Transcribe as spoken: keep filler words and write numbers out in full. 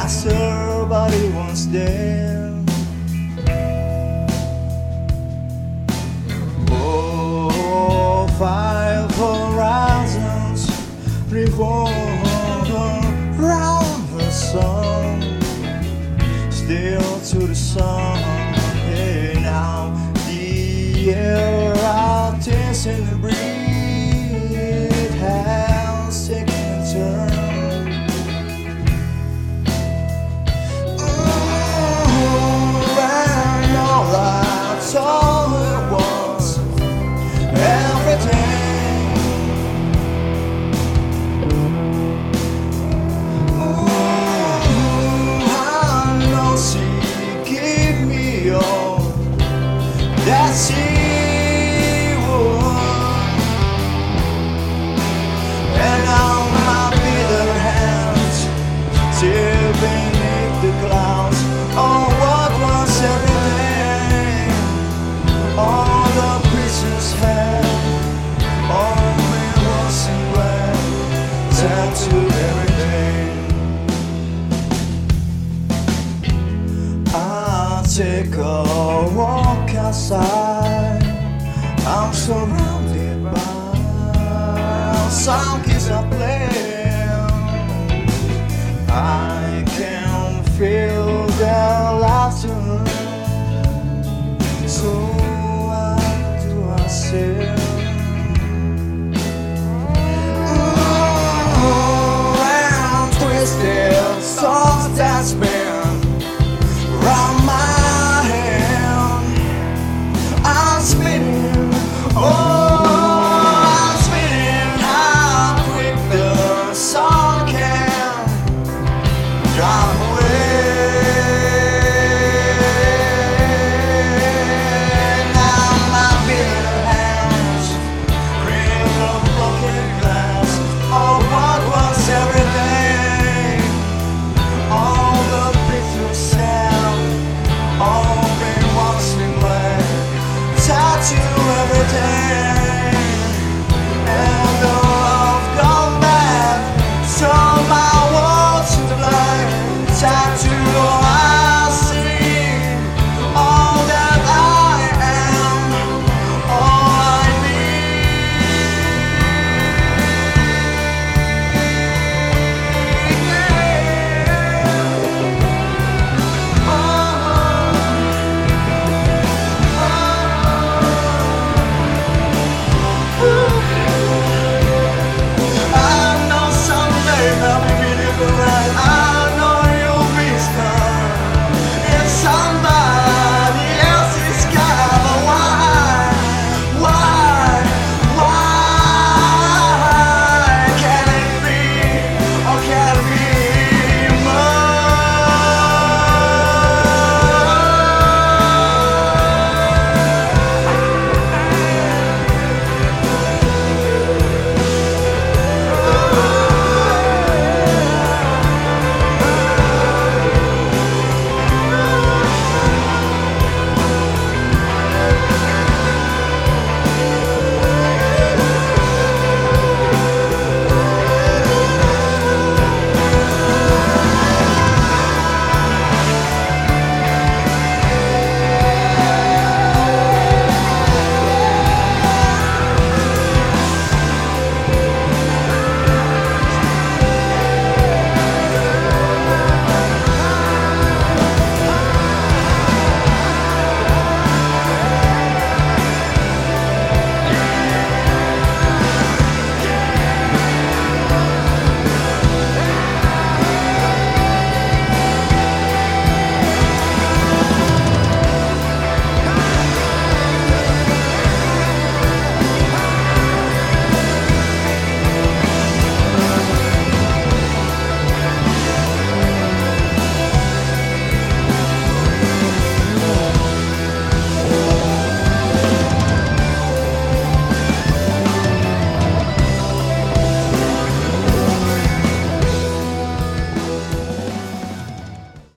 somebody once there. Oh, five horizons revolve around the sun, still to the sun. Hey, now the air out is in the breeze has taken a turn. All at once, everything. Ooh, I know she give me all that she would, and now my bitter hands still beneath the clouds. Oh, what was everything? All the pieces had, all it was in red, tattooed everything. I'll take a walk outside. I'm surrounded by songs I play. I can feel their laughter. So around twisted songs that spin round my hand. I'm spinning, oh, I'm spinning. How quick the song can drive away.